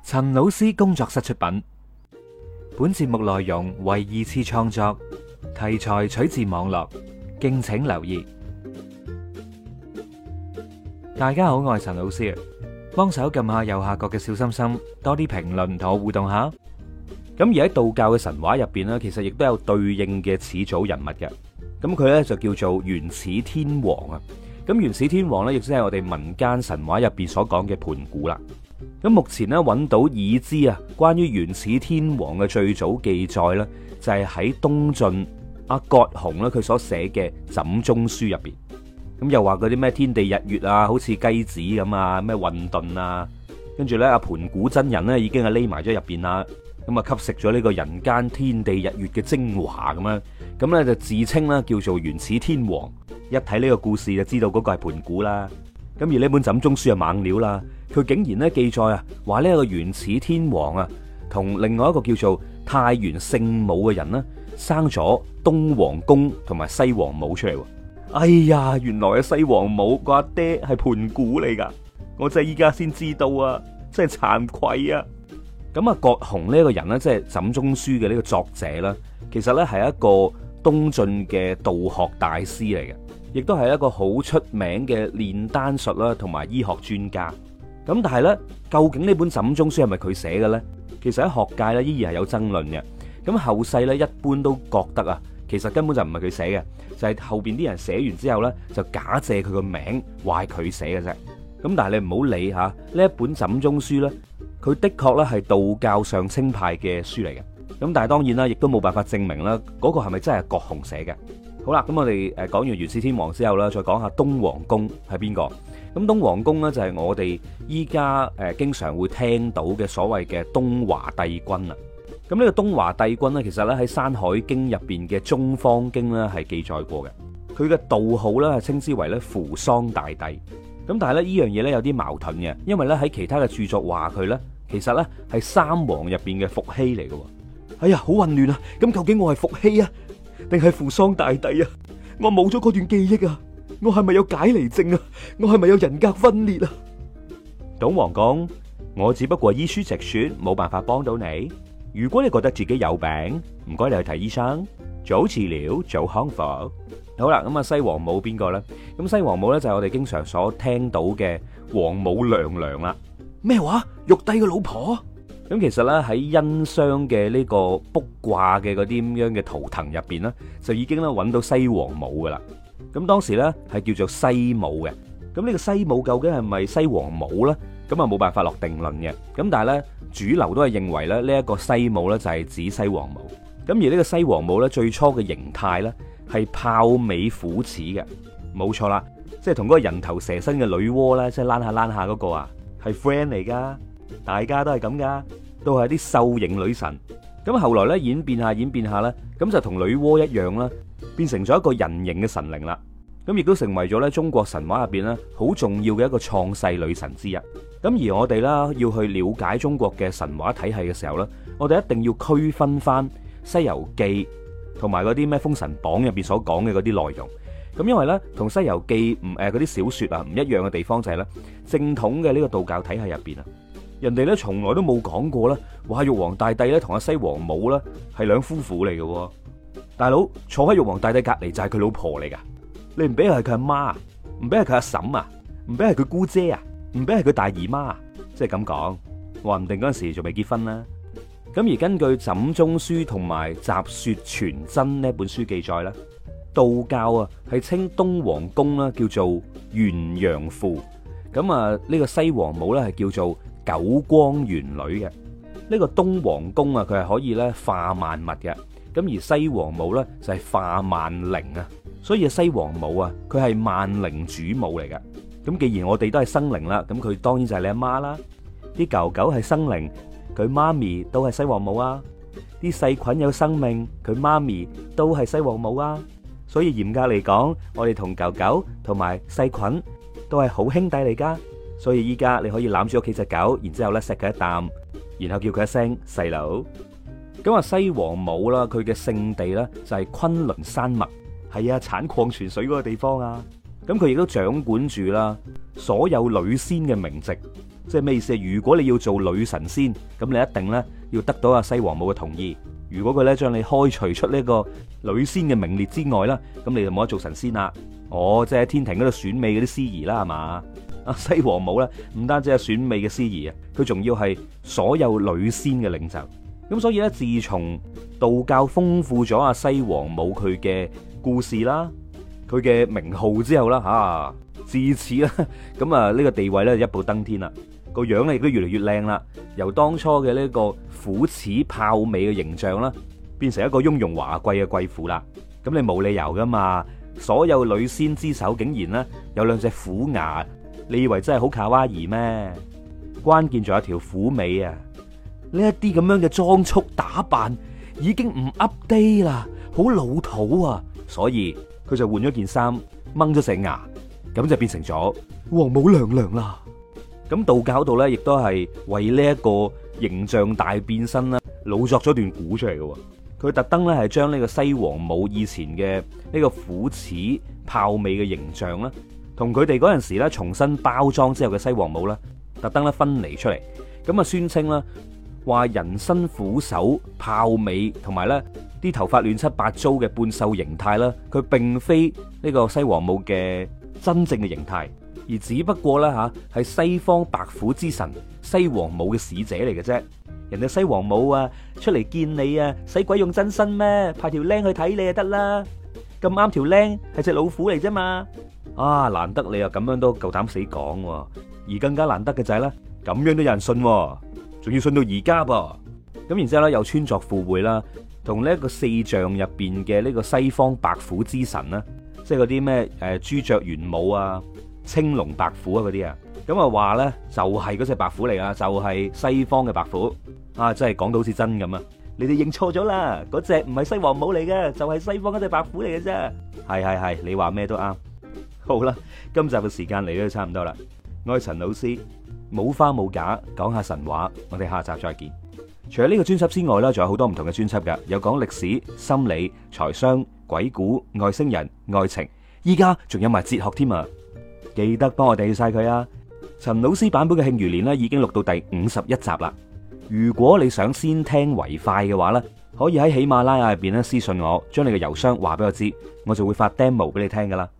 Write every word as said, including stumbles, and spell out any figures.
陳老師工作室出品，本節目內容為二次創作，題材取自網絡，敬請留意。大家好，我係陳老師，幫手撳下右下角嘅小心心，多啲評論同我互動下。咁而喺道教嘅神話入邊呢，其實亦都有對應嘅始祖人物嘅。咁佢呢就叫做元始天王啊。咁元始天王呢，亦即係我哋民間神話入邊所講嘅盤古啦。咁目前咧揾到已知啊，關於元始天王嘅最早記載咧，就係喺東晉阿葛洪咧佢所寫嘅《枕中書》入邊。咁又話嗰啲咩天地日月啊，好似雞子咁啊，咩混沌啊，跟住咧阿盤古真人咧已經係匿埋咗入邊啦，咁啊吸食咗呢個人間天地日月嘅精華咁樣，咁咧就自稱啦叫做元始天王。一睇呢個故事就知道嗰個係盤古啦。咁而呢本枕中書係猛料啦，佢竟然咧記載啊，話呢個元始天王啊，同另外一個叫做太元聖母嘅人呢，生咗東王公同埋西王母出嚟。哎呀，原來啊西王母個阿爹係盤古嚟噶，我真係依家先知道啊，真係慚愧啊！咁啊，葛洪呢個人呢，即係枕中書嘅呢個作者啦，其實咧係一個東晉嘅道學大師嚟嘅。亦都係一個好出名嘅煉丹術啦，同埋醫學專家。咁但係呢，究竟呢本枕中書係咪佢寫嘅呢？其實喺學界咧依然係有爭論嘅。咁後世咧一般都覺得啊，其實根本就唔係佢寫嘅，就係後邊啲人寫完之後呢，就假借佢個名話係佢寫嘅啫。咁但係你唔好理吓呢一本枕中書呢，佢的確咧係道教上清派嘅書嚟嘅。咁但係當然啦，亦都冇辦法證明啦嗰個係咪真係葛洪寫嘅。好啦，咁我哋誒講完元始天王之後啦，再講下東王公係邊個？咁東王公呢，就係我哋依家誒經常會聽到嘅所謂嘅東華帝君啦。咁呢個東華帝君呢，其實咧喺《山海經》入邊嘅《中方經》咧係記載過嘅。佢嘅道號咧係稱之為咧扶桑大帝。咁但係咧呢樣嘢咧有啲矛盾嘅，因為咧喺其他嘅著作話佢咧其實咧係三王入邊嘅伏羲嚟嘅。哎呀，好混亂啊！咁究竟我係伏羲啊，定係扶桑大帝啊？我冇咗嗰段記憶啊！我係咪有解離症啊？我係咪有人格分裂啊？東王公，我只不過依書直說，冇辦法幫到你。如果你覺得自己有病，唔該你去睇醫生，早治療早康復。好啦，咁啊西王母邊個咧？咁西王母咧就係我哋經常所聽到嘅王母娘娘啦。咩話？玉帝嘅老婆？咁其實咧喺殷商嘅呢個卜卦嘅嗰啲咁樣嘅圖騰入邊咧，就已經咧揾到西王母噶啦。咁當時咧係叫做西母嘅。咁呢個西母究竟係咪西王母咧？咁啊冇辦法落定論嘅。咁但係咧主流都係認為咧呢一個西母咧就係指西王母。咁而呢個西王母咧最初嘅形態咧係豹尾虎齒嘅，冇錯啦，即係同嗰個人頭蛇身嘅女媧咧，即係躝下躝下嗰個啊，係 friend 嚟噶。大家都係咁噶，都係啲獸形女神。咁後來咧演變下演變下咧，咁就同女媧一樣啦，變成咗一個人形嘅神靈啦。咁亦都成為咗咧中國神話入邊咧好重要嘅一個創世女神之一。咁而我哋啦要去了解中國嘅神話體系嘅時候咧，我哋一定要區分翻《西遊記》同埋嗰啲咩《封神榜》入邊所講嘅嗰啲內容。咁因為咧同《西遊記》唔誒嗰啲小說啊唔一樣嘅地方就係咧正統嘅呢個道教體系入邊啊。人哋咧從來都冇講過啦，話玉皇大帝咧同阿西王母咧係兩夫婦嚟嘅。大佬坐喺玉皇大帝隔籬就係佢老婆嚟噶，你唔俾係佢阿媽，唔俾係佢阿嬸啊，唔俾係佢姑姐啊，唔俾係佢大姨媽啊，即係咁講，話唔定嗰陣時仲未結婚啦。咁而根據《枕中書》同埋《集說全真》呢本書記載咧，道教啊係稱東王公啦叫做元陽父，咁啊呢個西王母咧係叫做九光玄女嘅。呢個東王公啊，佢係可以咧化萬物嘅，咁而西王母咧就係化萬靈啊，所以西王母啊，佢係萬靈主母嚟嘅。咁既然我哋都係生靈啦，咁佢當然就係你阿媽啦。啲狗狗係生靈，佢媽咪都係西王母啊。啲細菌有生命，佢媽咪都係西王母啊。所以嚴格嚟講，我哋同狗狗同埋細菌都係好兄弟嚟噶。所以依家你可以攬住屋企隻狗，然之後咧錫佢一啖，然後叫佢一聲細佬。咁啊，西王母啦，佢嘅聖地咧就係昆崙山脈，係啊，產礦泉水嗰個地方啊。咁佢亦都掌管住啦所有女仙嘅名籍， 即係咩意思啊？如果你要做女神仙，咁你一定咧要得到阿西王母嘅同意。如果佢咧將你開除出呢個女仙嘅名列之外啦，咁你就冇得做神仙啦。哦，即係喺天庭嗰度選美嗰啲司儀啦，係嘛？阿西王母咧唔單止係選美嘅司儀啊，佢仲要係所有女仙嘅領袖。咁所以咧，自從道教豐富咗阿西王母佢嘅故事啦，佢嘅名號之後啦，吓自此啦，咁啊呢個地位咧一步登天啦，個樣咧亦都越嚟越靚啦。由當初嘅呢個虎齒豹尾嘅形象啦，變成一個雍容華貴嘅貴婦啦。咁你冇理由噶嘛？所有女仙之首竟然咧有兩隻虎牙，你以為真係好卡哇伊咩？關鍵仲有條虎尾啊！呢一啲咁樣嘅裝束打扮已經唔 update 啦，好老土啊！所以佢就換咗件衫，掹咗隻牙，咁就變成咗王母娘娘啦。咁道教度咧，亦都係為呢一個形象大變身啦，老作咗段古出嚟嘅。佢特登咧係將呢個西王母以前嘅呢個虎齒豹尾嘅形象啦，同佢哋嗰陣時咧重新包裝之後嘅西王母咧，特登咧分離出嚟。咁啊宣稱啦，話人身虎首豹尾同埋咧啲頭髮亂七八糟嘅半獸形態啦，佢並非呢個西王母嘅真正嘅形態，而只不過咧吓係西方白虎之神西王母嘅使者嚟嘅啫。人哋西王母啊出嚟見你啊，使鬼用真身咩？派條僆去睇你就得啦。咁啱條僆係隻老虎嚟啫嘛。啊，難得你又咁樣都夠膽死講，而更加難得嘅就係咧，咁樣都有人信，仲要信到而家噃。咁然之後咧又穿鑿附會啦，同呢一個四象入邊嘅呢個西方白虎之神啦，即係嗰啲咩誒朱雀玄武啊、青龍白虎啊嗰啲啊，咁啊話咧就係嗰隻白虎嚟啊，就係西方嘅白虎啊，真係講到好似真咁啊！你哋認錯咗啦，嗰隻唔係西王母嚟嘅，就係西方嗰隻白虎嚟嘅啫。係係係，你話咩都啱。好啦，今集嘅時間嚟到差唔多啦。我係陳老師，冇花冇假講下神話，我哋下集再見。除咗呢個專輯之外呢，仲有好多唔同嘅專輯噶，有講歷史、心理、財商、鬼故、外星人、愛情，依家仲有埋哲學添啊！記得幫我訂閱晒佢啊！陳老師版本嘅慶餘年呢已經錄到第五十一集啦。如果你想先聽為快嘅話呢，可以喺喜馬拉雅入邊咧私信我，將你嘅郵箱話俾我知，我就會發 demo 俾你聽噶啦。